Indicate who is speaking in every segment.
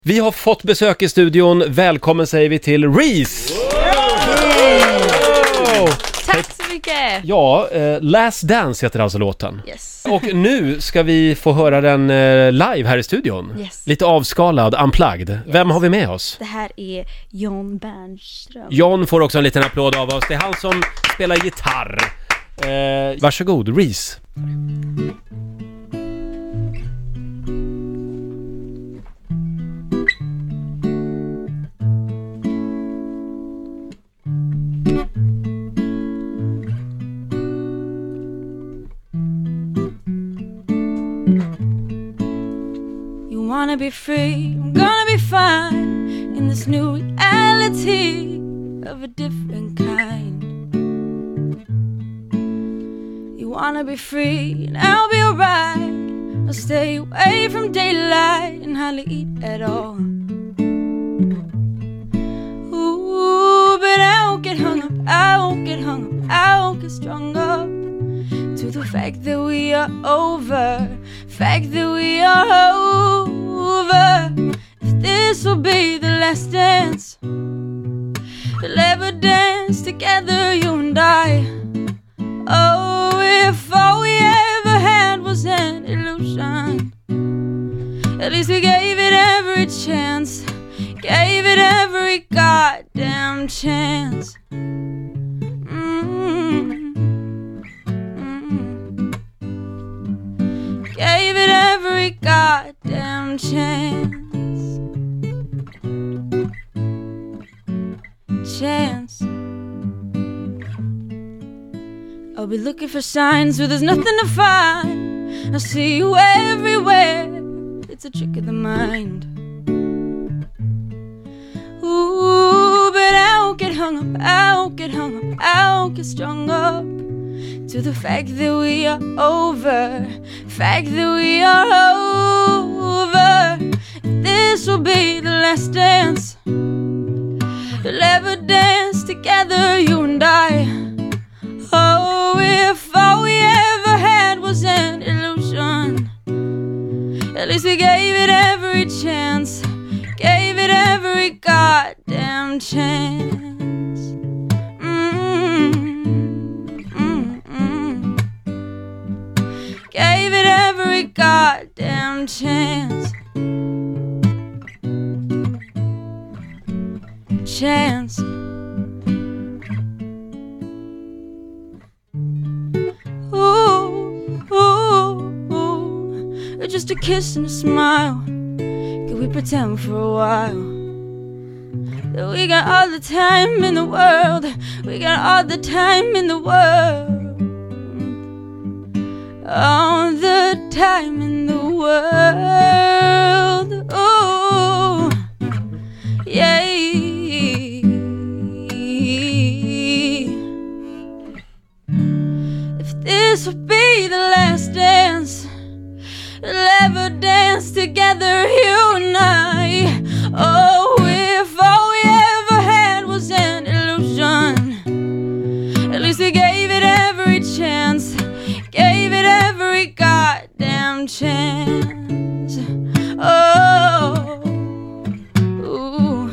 Speaker 1: Vi har fått besök i studion. Välkommen säger vi till Reese.
Speaker 2: Tack så mycket.
Speaker 1: Ja, Last Dance heter alltså låten.
Speaker 2: Yes.
Speaker 1: Och nu ska vi få höra den live här i studion.
Speaker 2: Yes.
Speaker 1: Lite avskalad, unplugged. Vem har vi med oss?
Speaker 2: Det här är John Bernström.
Speaker 1: John får också en liten applåd av oss. Det är han som spelar gitarr. Varsågod, Reese.
Speaker 2: Wanna be free, I'm gonna be fine in this new reality of a different kind. You wanna be free and I'll be alright. I'll stay away from daylight and hardly eat at all. Ooh, but I won't get hung up, I won't get hung up, I won't get strung up to the fact that we are over, fact that we are over. If this will be the last dance, we'll ever dance together, you and I. Oh, if all we ever had was an illusion, at least we gave it every chance, gave it every goddamn chance. Gave it every goddamn chance. I'll be looking for signs where there's nothing to find. I see you everywhere. It's a trick of the mind. Ooh, but I won't get hung up, I won't get hung up, I won't get strung up to the fact that we are over, fact that we are over. This will be the last dance, we'll ever dance together, you and I. Oh, if all we ever had was an illusion, at least we gave it every chance, gave it every goddamn chance. Gave it every goddamn chance. Chance. Ooh, ooh, ooh. Just a kiss and a smile. Could we pretend for a while that we got all the time in the world? We got all the time in the world. All the time in the world. Oh, yeah. If this would be the last dance, we'll ever dance together, you and I. Oh, if all we ever had was an illusion, at least we gave it every chance, gave it every goddamn chance. Oh, ooh.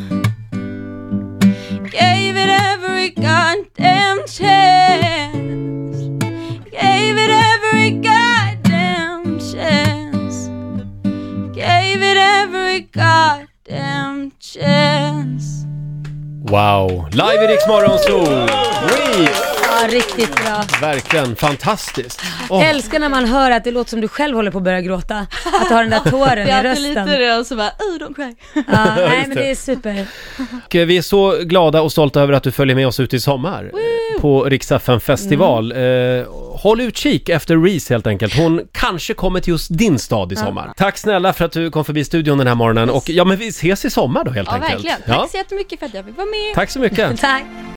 Speaker 2: Gave it every goddamn chance, gave it every goddamn chance, gave it every goddamn chance.
Speaker 1: Wow, live i Rix Morgonzoo. Reese.
Speaker 3: Ja, riktigt bra.
Speaker 1: Verkligen fantastiskt.
Speaker 3: Jag älskar när man hör att det låter som du själv håller på att börja gråta. Att du har den där tåren i rösten.
Speaker 2: lite det och så bara, don't cry.
Speaker 3: Ja, nej men det är super.
Speaker 1: Och vi är så glada och stolta över att du följer med oss ut i sommar. På Rix FM festival. Håll utkik efter Reese helt enkelt. Hon kanske kommer till just din stad i sommar. Tack snälla för att du kom förbi studion den här morgonen. Och ja, men vi ses i sommar då helt enkelt.
Speaker 2: Verkligen. Tack så jättemycket för att jag fick vara med.
Speaker 1: Tack så mycket.
Speaker 3: Tack.